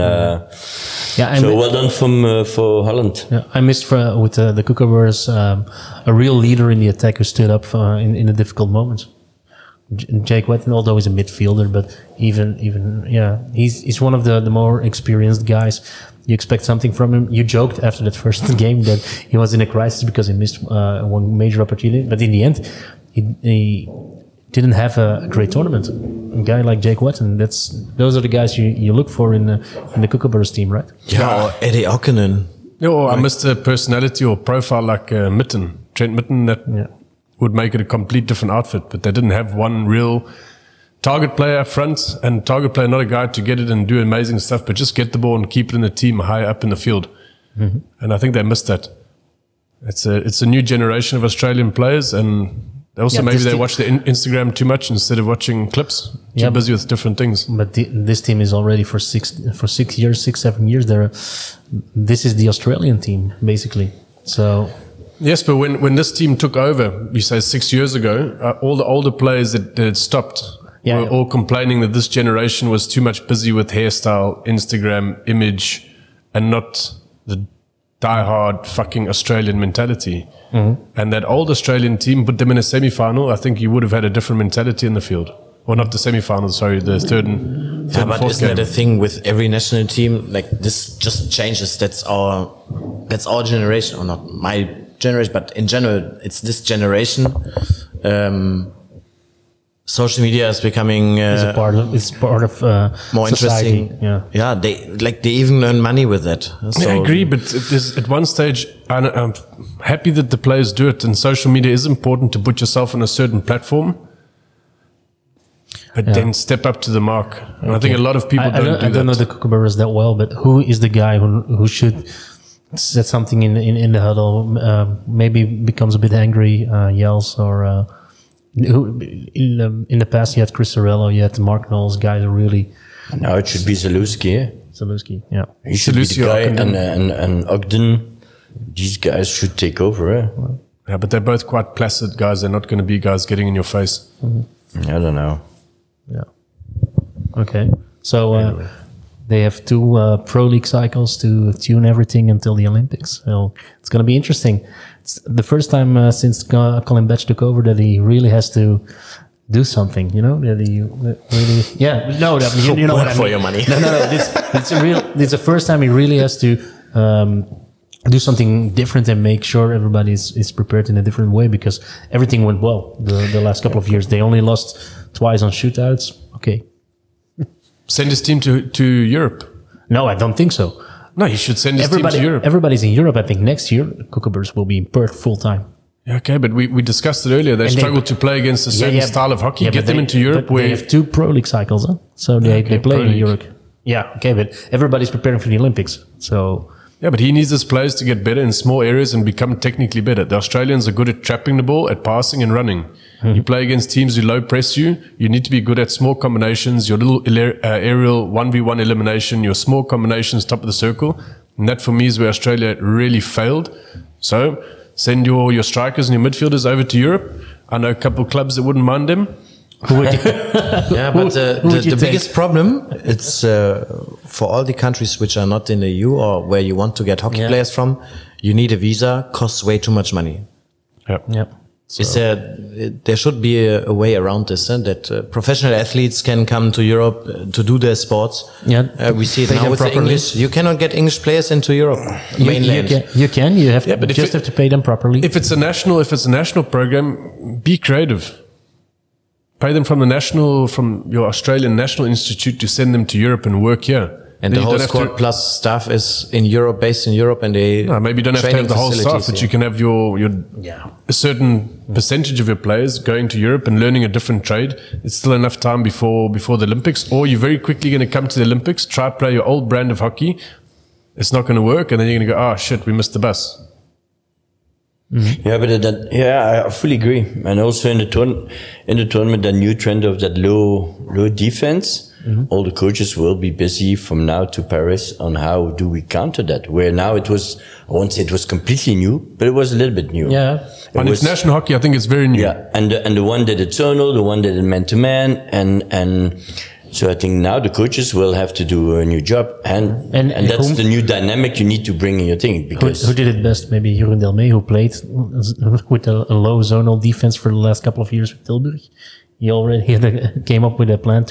[SPEAKER 3] so well done for Holland.
[SPEAKER 1] Yeah, I missed with the Kookaburras a real leader in the attack who stood up in the difficult moments. Jake Wetton, although he's a midfielder, but even he's one of the more experienced guys. You expect something from him. You joked after that first game that he was in a crisis because he missed one major opportunity, but in the end, he didn't have a great tournament. A guy like Jake Wetton, those are the guys you look for in the Kookaburras team, right?
[SPEAKER 2] Yeah, or Eddie Okkanen.
[SPEAKER 4] I missed a personality or profile like Trent Mitten that would make it a complete different outfit, but they didn't have one real target player up front, and target player, not a guy to get it and do amazing stuff, but just get the ball and keep it in the team high up in the field. Mm-hmm. And I think they missed that. It's a new generation of Australian players, and also maybe they watch the Instagram too much instead of watching clips. Too busy with different things.
[SPEAKER 1] But this team is already for 7 years. This is the Australian team basically. So.
[SPEAKER 4] Yes, but when this team took over, we say 6 years ago, all the older players that had stopped were all complaining that this generation was too much busy with hairstyle, Instagram, image, and not the die-hard fucking Australian mentality. Mm-hmm. And that old Australian team put them in a semi-final. I think you would have had a different mentality in the field. Or not the semi-final, sorry, the third and
[SPEAKER 2] but
[SPEAKER 4] fourth
[SPEAKER 2] isn't
[SPEAKER 4] game.
[SPEAKER 2] that a thing with every national team? Like, this just changes. That's our generation, or not my generation, but in general, it's this generation. Social media is becoming
[SPEAKER 1] it's part of
[SPEAKER 2] more
[SPEAKER 1] society.
[SPEAKER 2] Interesting. Yeah, they even earn money with that. So,
[SPEAKER 4] I agree, but at one stage, I'm happy that the players do it, and social media is important to put yourself on a certain platform. But then step up to the mark. And I think a lot of people don't do that.
[SPEAKER 1] I don't know the Kookaburras that well, but who is the guy who should set something in the huddle? Maybe becomes a bit angry, yells, or in the past you had Chris Sorello, you had Mark Knowles, guys are really.
[SPEAKER 3] Now it should be Zalewski.
[SPEAKER 1] Zalewski, yeah.
[SPEAKER 3] He should be the guy, and Ogden. These guys should take over.
[SPEAKER 4] Yeah, but they're both quite placid guys. They're not going to be guys getting in your face.
[SPEAKER 3] Mm-hmm. I don't know.
[SPEAKER 1] Yeah. Okay. So anyway. They have 2 Pro League cycles to tune everything until the Olympics. So it's going to be interesting. It's the first time since Colin Betch took over that he really has to do something. You know, that he really. Yeah. No, you know what I mean.
[SPEAKER 2] For your money.
[SPEAKER 1] No. It's the first time he really has to do something different and make sure everybody is prepared in a different way, because everything went well the last couple of years. They only lost twice on shootouts. Okay.
[SPEAKER 4] Send his team to Europe.
[SPEAKER 1] No, I don't think so.
[SPEAKER 4] No, he should send his team to Europe.
[SPEAKER 1] Everybody's in Europe. I think next year, Kookaburras will be in Perth full time.
[SPEAKER 4] Yeah, okay, but we discussed it earlier. They struggle to play against a certain style of hockey. Get them into Europe.
[SPEAKER 1] They have 2 Pro League cycles, huh? So they play in Europe. Yeah, okay, but everybody's preparing for the Olympics. So
[SPEAKER 4] yeah, but he needs his players to get better in small areas and become technically better. The Australians are good at trapping the ball, at passing and running. You play against teams who low press you. You need to be good at small combinations, your little aerial 1v1 elimination, your small combinations top of the circle. And that for me is where Australia really failed. So send your strikers and your midfielders over to Europe. I know a couple of clubs that wouldn't mind them.
[SPEAKER 2] Yeah, but the biggest problem, it's for all the countries which are not in the EU or where you want to get hockey players from, you need a visa, costs way too much money.
[SPEAKER 1] Yeah.
[SPEAKER 2] So there should be a way around this, that professional athletes can come to Europe to do their sports.
[SPEAKER 1] Yeah,
[SPEAKER 2] we see it now with the English. You cannot get English players into Europe, mainland.
[SPEAKER 1] You can. You have have to pay them properly.
[SPEAKER 4] If it's a national program, be creative. Pay them from your Australian National Institute to send them to Europe and work here.
[SPEAKER 2] And the whole squad plus staff is in Europe, based in Europe, and
[SPEAKER 4] maybe you don't have to have the whole staff, but you can have a certain percentage of your players going to Europe and learning a different trade. It's still enough time before the Olympics, or you're very quickly going to come to the Olympics, try to play your old brand of hockey. It's not going to work, and then you're going to go, oh shit, we missed the bus.
[SPEAKER 3] Mm-hmm. Yeah, but I fully agree. And also in the tournament, the new trend of that low defense, all the coaches will be busy from now to Paris on how do we counter that. Where now it was, I won't say it was completely new, but it was a little bit new.
[SPEAKER 1] Yeah.
[SPEAKER 4] On international hockey, I think it's very new.
[SPEAKER 3] Yeah, and the one did it zonal, the one did it man to man, and so I think now the coaches will have to do a new job, and that's the new dynamic you need to bring in your thing. Because
[SPEAKER 1] who did it best? Maybe Jeroen Delmee, who played with a low zonal defense for the last couple of years with Tilburg. He already came up with a plan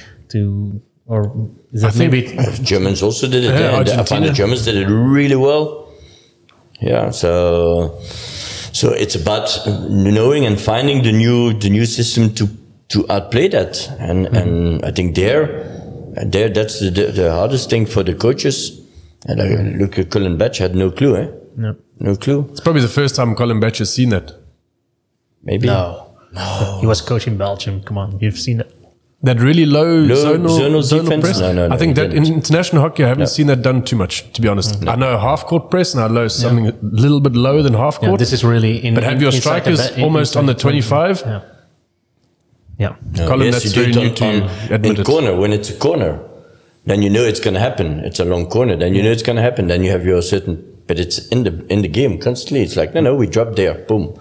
[SPEAKER 1] maybe
[SPEAKER 3] Germans also did it.
[SPEAKER 4] Yeah,
[SPEAKER 3] I find the Germans did it really well. Yeah, so it's about knowing and finding the new system to outplay that, and I think that's the hardest thing for the coaches. And look at Colin Batch had no clue, no clue.
[SPEAKER 4] It's probably the first time Colin Batch has seen that.
[SPEAKER 3] Maybe
[SPEAKER 1] no. He was coaching Belgium. Come on, you've seen it.
[SPEAKER 4] That really low zonal press.
[SPEAKER 3] No,
[SPEAKER 4] I think that in international hockey, I haven't seen that done too much, to be honest. I know half court press, and I know something a little bit lower than half court.
[SPEAKER 1] This is really
[SPEAKER 4] but have your strikers almost on the 25.
[SPEAKER 1] Yeah.
[SPEAKER 4] Colin, that's very new to you.
[SPEAKER 3] In corner, when it's a corner, then you know it's going to happen. It's a long corner, then you know it's going to happen. Then you have your certain, but it's in the game constantly. It's like no, we drop there, boom.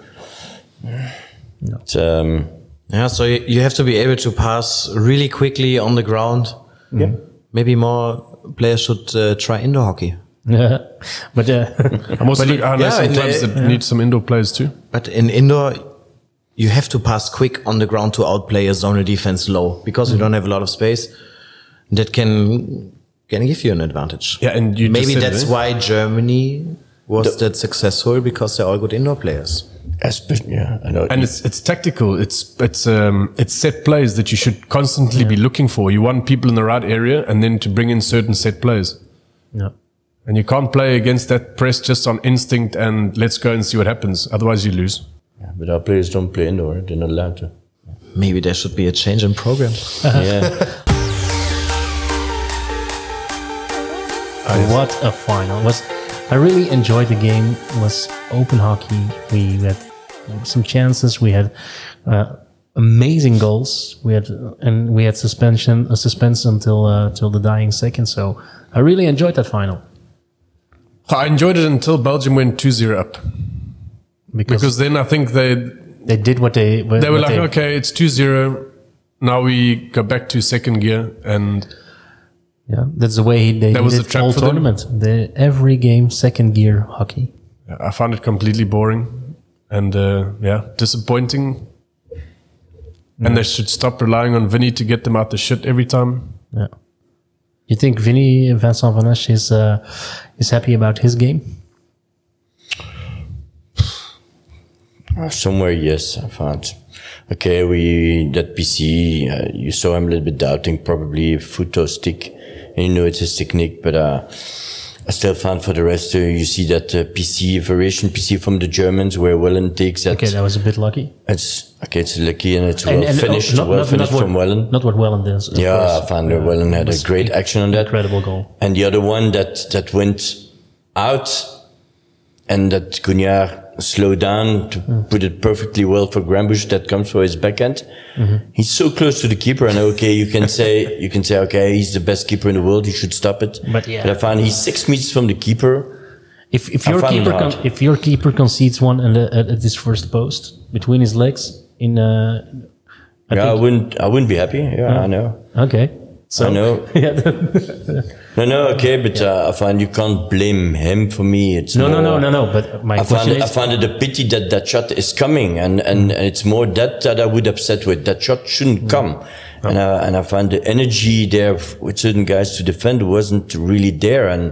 [SPEAKER 3] It's,
[SPEAKER 2] so you have to be able to pass really quickly on the ground.
[SPEAKER 3] Yeah.
[SPEAKER 2] Maybe more players should try indoor hockey.
[SPEAKER 1] Yeah, but
[SPEAKER 4] I'm also I know some clubs that need some indoor players too.
[SPEAKER 2] But in indoor, you have to pass quick on the ground to outplay a zonal defense low because you don't have a lot of space. That can give you an advantage.
[SPEAKER 4] Yeah, and
[SPEAKER 2] maybe that's why Germany was that successful, because they're all good indoor players.
[SPEAKER 3] I know.
[SPEAKER 4] And it's tactical. It's set plays that you should constantly be looking for. You want people in the right area, and then to bring in certain set plays.
[SPEAKER 1] Yeah.
[SPEAKER 4] And you can't play against that press just on instinct and let's go and see what happens. Otherwise, you lose.
[SPEAKER 3] Yeah, but our players don't play indoor. They're not allowed to.
[SPEAKER 2] Maybe there should be a change in program.
[SPEAKER 3] Yeah.
[SPEAKER 1] What a final! I really enjoyed the game. It was open hockey. We had some chances. We had amazing goals. We had suspense until the dying second. So I really enjoyed that final.
[SPEAKER 4] I enjoyed it until Belgium went 2-0 up. Because then I think they
[SPEAKER 1] did what they were
[SPEAKER 4] like, okay, it's 2-0. Now we go back to second gear, and
[SPEAKER 1] that's the way they did the whole tournament. Every game, second gear hockey.
[SPEAKER 4] Yeah, I found it completely boring and disappointing. And they should stop relying on Vinny to get them out the shit every time.
[SPEAKER 1] Yeah. You think Vincent Van Esch is happy about his game?
[SPEAKER 3] Somewhere, yes, I found. okay, that PC, you saw him a little bit doubting, probably foot or stick, and you know it's his technique, but I still found for the rest, you see that variation PC from the Germans, where Wellen takes that.
[SPEAKER 1] Okay, that was a bit lucky.
[SPEAKER 3] It's lucky, and it's well finished from Wellen.
[SPEAKER 1] Not what Wellen does.
[SPEAKER 3] I found Wellen had a great action on that.
[SPEAKER 1] Incredible goal.
[SPEAKER 3] And the other one that went out, and that Cunha slowed down to put it perfectly well for Grambusch, that comes for his backhand. He's so close to the keeper, and okay, you can say, okay, he's the best keeper in the world, he should stop it. But I found he's 6 meters from the keeper.
[SPEAKER 1] If your keeper concedes one at his first post between his legs, I
[SPEAKER 3] wouldn't be happy. I know.
[SPEAKER 1] Okay. So,
[SPEAKER 3] I know. No, okay, but I find you can't blame him for me. It's
[SPEAKER 1] no. But my question is,
[SPEAKER 3] I find it a pity that shot is coming, and it's more that I would upset with. That shot shouldn't come, and I find the energy there with certain guys to defend wasn't really there, and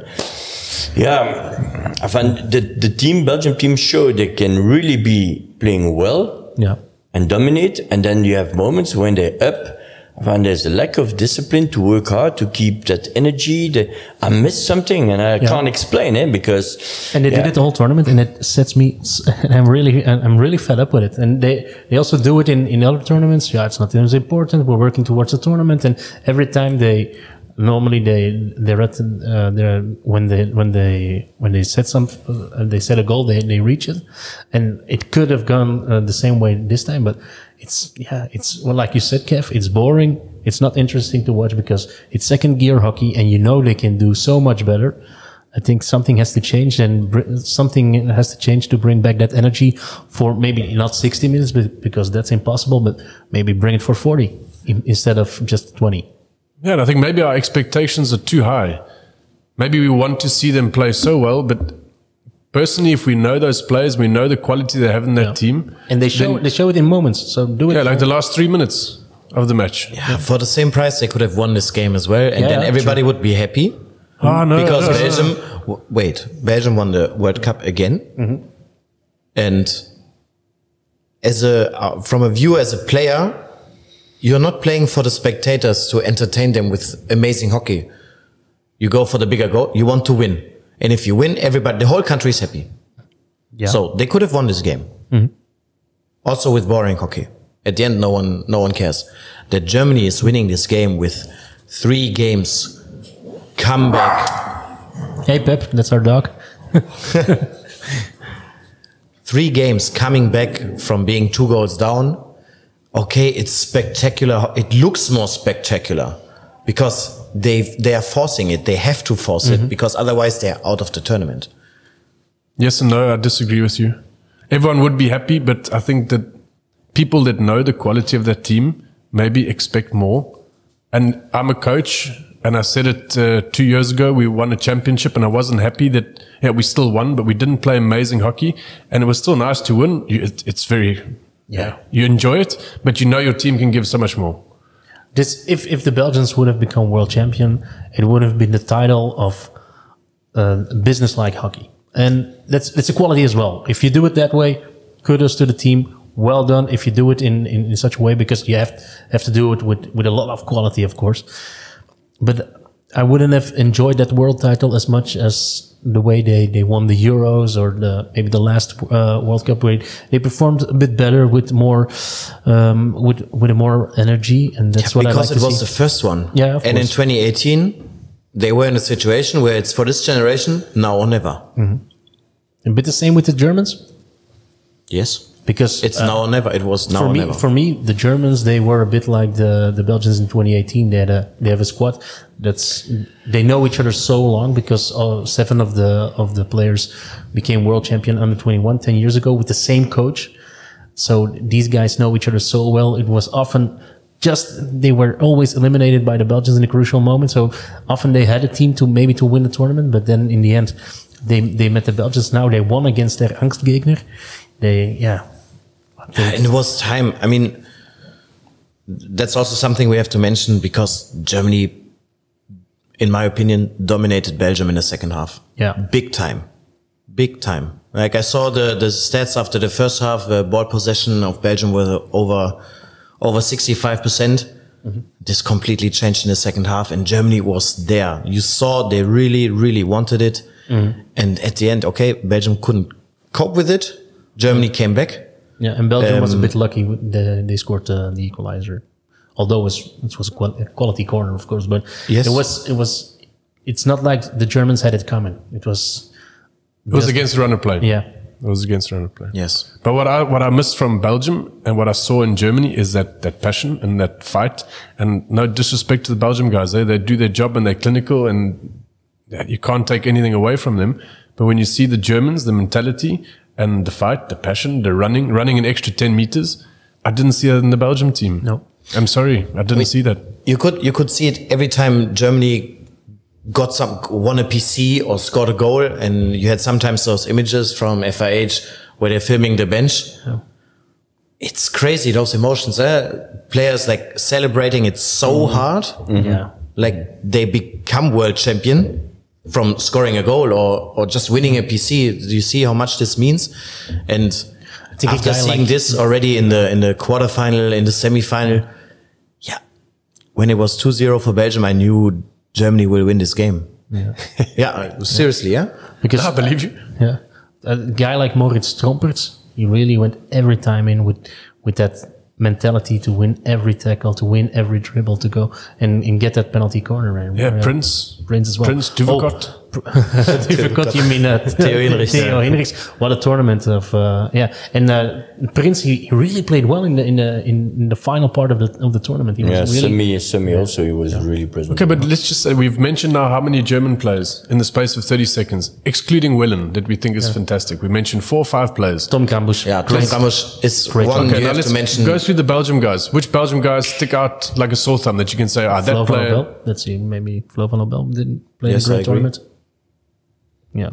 [SPEAKER 3] I find the Belgium team show they can really be playing well, and dominate, and then you have moments when they're up. I find there's a lack of discipline to work hard to keep that energy. I missed something, and I can't explain it because.
[SPEAKER 1] And they did it the whole tournament, and it sets me. I'm really fed up with it. And they also do it in other tournaments. Yeah, it's not as important. We're working towards the tournament, and every time they're at when they set a goal, they reach it, and it could have gone the same way this time, but. It's well, like you said, Kev, it's boring. It's not interesting to watch because it's second gear hockey, and they can do so much better. I think something has to change, and something has to change to bring back that energy for maybe not 60 minutes, because that's impossible, but maybe bring it for 40 instead of just 20.
[SPEAKER 4] Yeah, and I think maybe our expectations are too high. Maybe we want to see them play so well, but personally, if we know those players, we know the quality they have in that team.
[SPEAKER 1] And they show it in moments, so do it.
[SPEAKER 4] Yeah, like the last 3 minutes of the match.
[SPEAKER 2] Yeah, for the same price, they could have won this game as well, and then everybody would be happy. Because Belgium won the World Cup again. And from a view as a player, you're not playing for the spectators to entertain them with amazing hockey. You go for the bigger goal, you want to win. And if you win, the whole country is happy. Yeah. So they could have won this game. Also with boring hockey. At the end, no one cares. That Germany is winning this game with 3 games comeback.
[SPEAKER 1] Hey Pep, that's our dog.
[SPEAKER 2] 3 games coming back from being 2 goals down. Okay, it's spectacular. It looks more spectacular because they are forcing it. They have to force it because otherwise they're out of the tournament.
[SPEAKER 4] Yes and no, I disagree with you. Everyone would be happy, but I think that people that know the quality of that team maybe expect more. And I'm a coach, and I said it 2 years ago. We won a championship, and I wasn't happy that we still won, but we didn't play amazing hockey, and it was still nice to win. It's very you enjoy it, but your team can give so much more.
[SPEAKER 1] If the Belgians would have become world champion, it would have been the title of business-like hockey. And that's a quality as well. If you do it that way, kudos to the team. Well done. If you do it in such a way, because you have to do it with a lot of quality, of course. But I wouldn't have enjoyed that world title as much as the way they won the Euros or maybe the last World Cup, where they performed a bit better with more with more energy, and that's what I like to see.
[SPEAKER 2] Because it was the first one.
[SPEAKER 1] Yeah, of course.
[SPEAKER 2] In 2018, they were in a situation where it's for this generation, now or never.
[SPEAKER 1] A bit the same with the Germans.
[SPEAKER 2] Yes.
[SPEAKER 1] Because
[SPEAKER 2] it's now or never. It was now or never.
[SPEAKER 1] For me, the Germans, they were a bit like the Belgians in 2018. They have a squad they know each other so long, because 7 of the players became world champion under 21 10 years ago with the same coach. So these guys know each other so well. It was often they were always eliminated by the Belgians in a crucial moment. So often they had a team to win the tournament, but then in the end, they met the Belgians. Now they won against their Angstgegner.
[SPEAKER 2] And it was time. I mean, that's also something we have to mention, because Germany, in my opinion, dominated Belgium in the second half.
[SPEAKER 1] Yeah.
[SPEAKER 2] Big time. Like I saw the stats after the first half, ball possession of Belgium was over 65%. This completely changed in the second half, and Germany was there. You saw they really, really wanted it. And at the end, okay, Belgium couldn't cope with it. Germany came back.
[SPEAKER 1] Yeah, and Belgium was a bit lucky. They scored the equalizer, although it was a quality corner, of course. But
[SPEAKER 2] Yes.
[SPEAKER 1] It's not like the Germans had it coming. It was
[SPEAKER 4] against the run of play.
[SPEAKER 1] Yeah.
[SPEAKER 4] It was against the run of play.
[SPEAKER 2] Yes.
[SPEAKER 4] But what I missed from Belgium and what I saw in Germany is that passion and that fight. And no disrespect to the Belgium guys, they do their job and they're clinical, and you can't take anything away from them. But when you see the Germans, the mentality and the fight, the passion, the running an extra 10 meters, I didn't see that in the Belgium team.
[SPEAKER 1] No.
[SPEAKER 4] I'm sorry, I didn't see that.
[SPEAKER 2] You could see it every time Germany won a PC or scored a goal, and you had sometimes those images from FIH where they're filming the bench.
[SPEAKER 1] Yeah.
[SPEAKER 2] It's crazy, those emotions. Players like celebrating it so hard.
[SPEAKER 1] Yeah.
[SPEAKER 2] Like they become world champion from scoring a goal or just winning a PC. Do you see how much this means? And
[SPEAKER 1] I think
[SPEAKER 2] after seeing this already in the quarterfinal, in the semifinal, yeah, when it was 2-0 for Belgium, I knew Germany will win this game. Yeah, yeah, seriously, yeah.
[SPEAKER 1] Because
[SPEAKER 4] I believe you.
[SPEAKER 1] Yeah, a guy like Moritz Tromperts, he really went every time in with that mentality to win every tackle, to win every dribble, to go and get that penalty corner. And
[SPEAKER 4] Yeah, Prince
[SPEAKER 1] as well.
[SPEAKER 4] Prince Duvakot.
[SPEAKER 1] Duvakot, you mean
[SPEAKER 2] Theo Hinrichs.
[SPEAKER 1] Theo Hinrichs. What a tournament of and Prince, he really played well in the final part of the tournament. He was really,
[SPEAKER 3] Semi also, he was really present.
[SPEAKER 4] Okay, but let's just say we've mentioned now how many German players in the space of 30 seconds, excluding Willen, that we think is fantastic. We mentioned 4 or 5 players.
[SPEAKER 1] Tom Kambusch.
[SPEAKER 2] Yeah, Tom Kambusch is
[SPEAKER 1] Great.
[SPEAKER 2] one
[SPEAKER 4] Okay,
[SPEAKER 2] you
[SPEAKER 4] now
[SPEAKER 2] have
[SPEAKER 4] let's
[SPEAKER 2] to mention.
[SPEAKER 4] go through the Belgium guys. Which Belgium guys stick out like a sore thumb that you can say, that
[SPEAKER 1] Flo van
[SPEAKER 4] player?
[SPEAKER 1] Obel. Let's see, maybe Flo van Obel didn't play
[SPEAKER 2] Yes,
[SPEAKER 1] a
[SPEAKER 2] I
[SPEAKER 1] great
[SPEAKER 2] agree.
[SPEAKER 1] tournament. Yeah.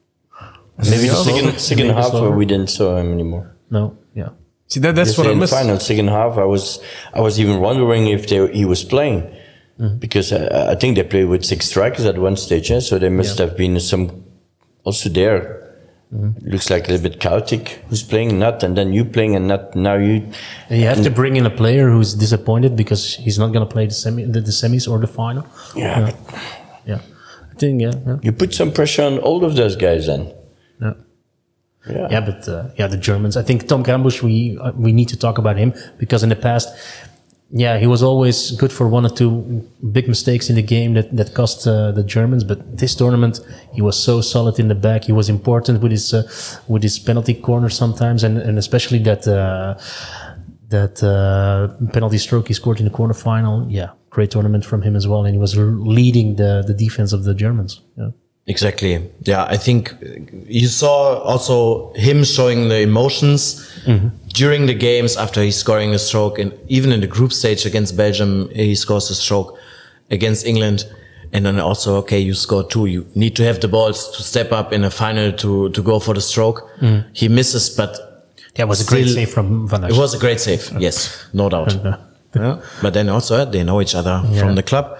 [SPEAKER 3] Maybe the
[SPEAKER 1] Slover.
[SPEAKER 3] second
[SPEAKER 1] Maybe
[SPEAKER 3] half
[SPEAKER 1] Slover.
[SPEAKER 3] where we didn't saw him anymore.
[SPEAKER 1] No, yeah.
[SPEAKER 4] See, that's
[SPEAKER 3] Just
[SPEAKER 4] what I
[SPEAKER 3] in the
[SPEAKER 4] missed.
[SPEAKER 3] final, second half, I was even wondering if he was playing. Because I think they played with 6 strikers at one stage, so there must have been some also there. Looks like a little bit chaotic. Who's playing, not, and then you playing, and not now you.
[SPEAKER 1] And you have to bring in a player who's disappointed because he's not going to play the semis or the final.
[SPEAKER 3] Yeah, but
[SPEAKER 1] Yeah. I think, yeah.
[SPEAKER 3] you put some pressure on all of those guys then.
[SPEAKER 1] Yeah.
[SPEAKER 3] Yeah.
[SPEAKER 1] Yeah, but the Germans. I think Tom Kambusch. We need to talk about him because in the past, he was always good for 1 or 2 big mistakes in the game that cost the Germans. But this tournament, he was so solid in the back. He was important with his penalty corner sometimes, and especially that penalty stroke he scored in the quarterfinal. Yeah, great tournament from him as well, and he was leading the defense of the Germans. Yeah.
[SPEAKER 2] Exactly. Yeah, I think you saw also him showing the emotions during the games after he's scoring a stroke, and even in the group stage against Belgium, he scores a stroke against England. And then also, okay, you score 2. You need to have the balls to step up in a final to go for the stroke. He misses, but
[SPEAKER 1] That was a great
[SPEAKER 2] still,
[SPEAKER 1] save from Van Dijk.
[SPEAKER 2] it was a great save. Yes, no doubt. Yeah. But then also they know each other from the club.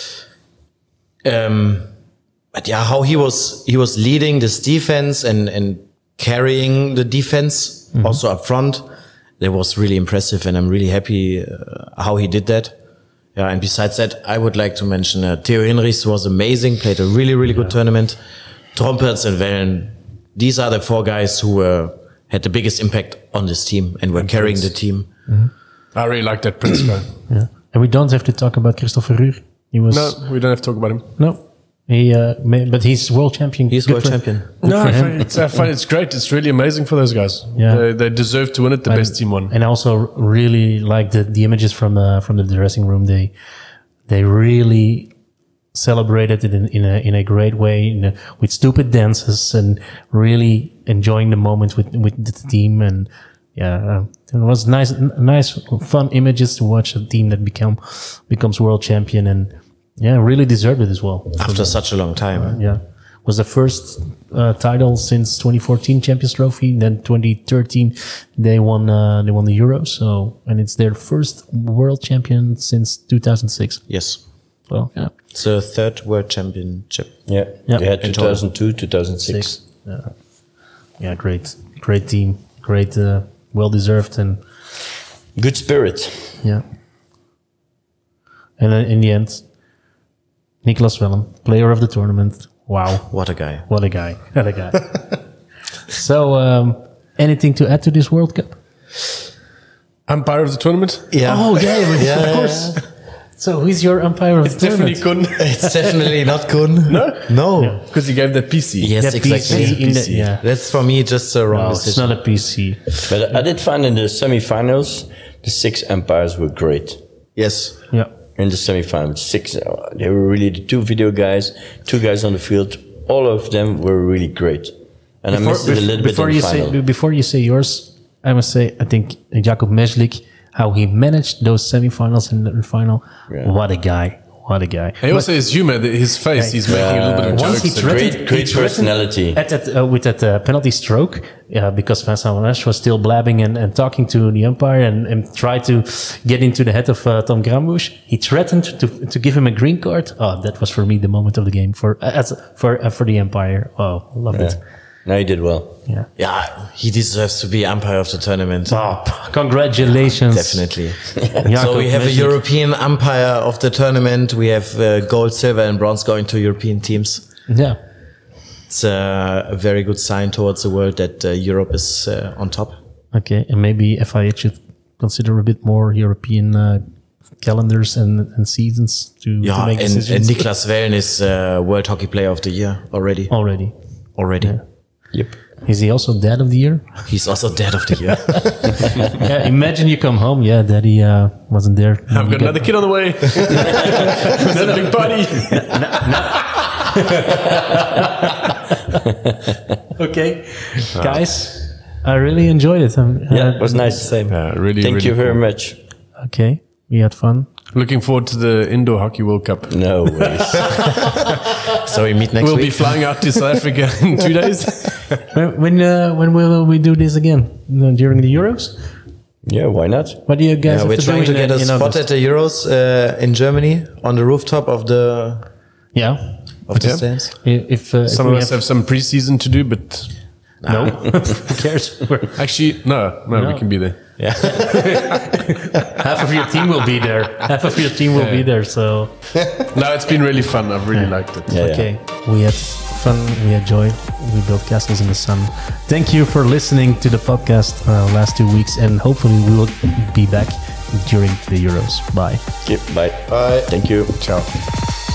[SPEAKER 2] But yeah, how he was leading this defense and carrying the defense also up front, that was really impressive, and I'm really happy how he did that. Yeah, and besides that, I would like to mention Theo Hinrichs was amazing, played a really, really good tournament. Tromperts and Wellen, these are the 4 guys who had the biggest impact on this team and were carrying the team.
[SPEAKER 4] I really like that Prince guy.
[SPEAKER 1] Yeah. And we don't have to talk about Christopher Ruhr. He was
[SPEAKER 4] No, we don't have to talk about him.
[SPEAKER 1] no. But he's world champion.
[SPEAKER 2] He's
[SPEAKER 1] Good
[SPEAKER 2] world
[SPEAKER 1] for-
[SPEAKER 2] champion.
[SPEAKER 4] No,
[SPEAKER 1] for
[SPEAKER 4] I
[SPEAKER 1] him.
[SPEAKER 4] find it's great. It's really amazing for those guys.
[SPEAKER 1] Yeah.
[SPEAKER 4] They deserve to win it. The best team won.
[SPEAKER 1] And I also really like the images from the dressing room. They really celebrated it in a great way, with stupid dances and really enjoying the moment with the team. And it was nice, fun images to watch a team that becomes world champion, and really deserved it as well.
[SPEAKER 2] After such a long time.
[SPEAKER 1] Was the first title since 2014 Champions Trophy. Then 2013 they won the Euros. So, and it's their first world champion since 2006.
[SPEAKER 2] Yes.
[SPEAKER 1] So
[SPEAKER 2] It's the 3rd world championship.
[SPEAKER 3] Yeah.
[SPEAKER 1] Yeah.
[SPEAKER 3] They had
[SPEAKER 2] In total.
[SPEAKER 3] 2002, 2006.
[SPEAKER 1] Yeah. Yeah, great team, great, well deserved, and
[SPEAKER 3] Good spirit.
[SPEAKER 1] yeah. And in the end, Niklas Wellem, player of the tournament. Wow,
[SPEAKER 2] What a guy.
[SPEAKER 1] what a guy! What a guy! So, anything to add to this World Cup?
[SPEAKER 4] Umpire of the tournament?
[SPEAKER 2] Yeah.
[SPEAKER 1] Oh yeah, of course. So, who's your umpire of the
[SPEAKER 4] Definitely
[SPEAKER 1] tournament?
[SPEAKER 4] couldn't.
[SPEAKER 2] It's definitely not Kun. No.
[SPEAKER 4] Because he gave that PC.
[SPEAKER 2] Yes,
[SPEAKER 1] Yeah,
[SPEAKER 2] exactly.
[SPEAKER 1] PC in the- yeah.
[SPEAKER 2] That's for me just a wrong
[SPEAKER 1] No, it's
[SPEAKER 2] decision.
[SPEAKER 1] not a PC.
[SPEAKER 3] But I did find in the semi-finals, the 6 umpires were great.
[SPEAKER 2] Yes.
[SPEAKER 1] Yeah.
[SPEAKER 3] In the semi-finals, 6, they were really the 2 video guys, 2 guys on the field. All of them were really great. And I missed it a little bit in the final.
[SPEAKER 1] Before you say yours, I must say I think Jakub Meslik, how he managed those semifinals and the final.
[SPEAKER 3] Yeah.
[SPEAKER 1] What a guy! What a guy!
[SPEAKER 4] He also his humor, his face, he's making a little bit of
[SPEAKER 1] Once he
[SPEAKER 4] jokes.
[SPEAKER 1] threatened,
[SPEAKER 3] Great personality.
[SPEAKER 1] with that penalty stroke, because Vincent Van Esch was still blabbing and talking to the umpire and tried to get into the head of Tom Grambusch. He threatened to give him a green card. Oh, that was for me the moment of the game for the umpire. Oh, loved it.
[SPEAKER 3] No, he did well.
[SPEAKER 1] Yeah.
[SPEAKER 2] Yeah, he deserves to be umpire of the tournament.
[SPEAKER 1] Oh, congratulations!
[SPEAKER 2] Definitely.
[SPEAKER 1] Jakub
[SPEAKER 2] So we have a
[SPEAKER 1] Meslik.
[SPEAKER 2] European umpire of the tournament. We have gold, silver, and bronze going to European teams.
[SPEAKER 1] Yeah.
[SPEAKER 2] It's a very good sign towards the world that Europe is on top.
[SPEAKER 1] Okay, and maybe FIH should consider a bit more European calendars and seasons to
[SPEAKER 2] Yeah,
[SPEAKER 1] make
[SPEAKER 2] and
[SPEAKER 1] decisions.
[SPEAKER 2] Niklas Wellen is World Hockey Player of the Year already.
[SPEAKER 1] Already.
[SPEAKER 3] Yep.
[SPEAKER 1] Is he also Dad of the Year?
[SPEAKER 2] He's also Dad of the Year.
[SPEAKER 1] Yeah, imagine you come home. Yeah, Daddy wasn't there.
[SPEAKER 4] I've got another kid on the way. Another big party.
[SPEAKER 1] Okay, guys, I really enjoyed it.
[SPEAKER 3] Yeah, it was nice.
[SPEAKER 2] Same.
[SPEAKER 4] Really,
[SPEAKER 3] Thank
[SPEAKER 4] really
[SPEAKER 3] you very
[SPEAKER 4] cool.
[SPEAKER 3] much.
[SPEAKER 1] Okay, we had fun.
[SPEAKER 4] Looking forward to the Indoor Hockey World Cup.
[SPEAKER 3] No worries.
[SPEAKER 2] So we meet next
[SPEAKER 4] We'll be
[SPEAKER 2] week.
[SPEAKER 4] flying out to South Africa in 2 days.
[SPEAKER 1] When will we do this again? During the Euros?
[SPEAKER 3] Yeah, why not?
[SPEAKER 1] What do you guys have
[SPEAKER 2] We're
[SPEAKER 1] to
[SPEAKER 2] trying
[SPEAKER 1] do
[SPEAKER 2] to get a
[SPEAKER 1] in
[SPEAKER 2] spot
[SPEAKER 1] August?
[SPEAKER 2] at the Euros in Germany on the rooftop of the
[SPEAKER 1] Yeah.
[SPEAKER 2] the stands.
[SPEAKER 1] If
[SPEAKER 4] Some
[SPEAKER 1] we
[SPEAKER 4] of us have some pre-season to do, but
[SPEAKER 1] no, who cares?
[SPEAKER 4] actually, no, we can be there.
[SPEAKER 1] Half of your team will be there. Half of your team will be there. So
[SPEAKER 4] No, it's been really fun. I've really liked it.
[SPEAKER 3] Yeah,
[SPEAKER 1] okay, we had fun. We had joy. We built castles in the sun. Thank you for listening to the podcast last 2 weeks, and hopefully we will be back during the Euros. Bye.
[SPEAKER 3] Okay, bye.
[SPEAKER 2] Bye.
[SPEAKER 3] Thank you.
[SPEAKER 4] Ciao.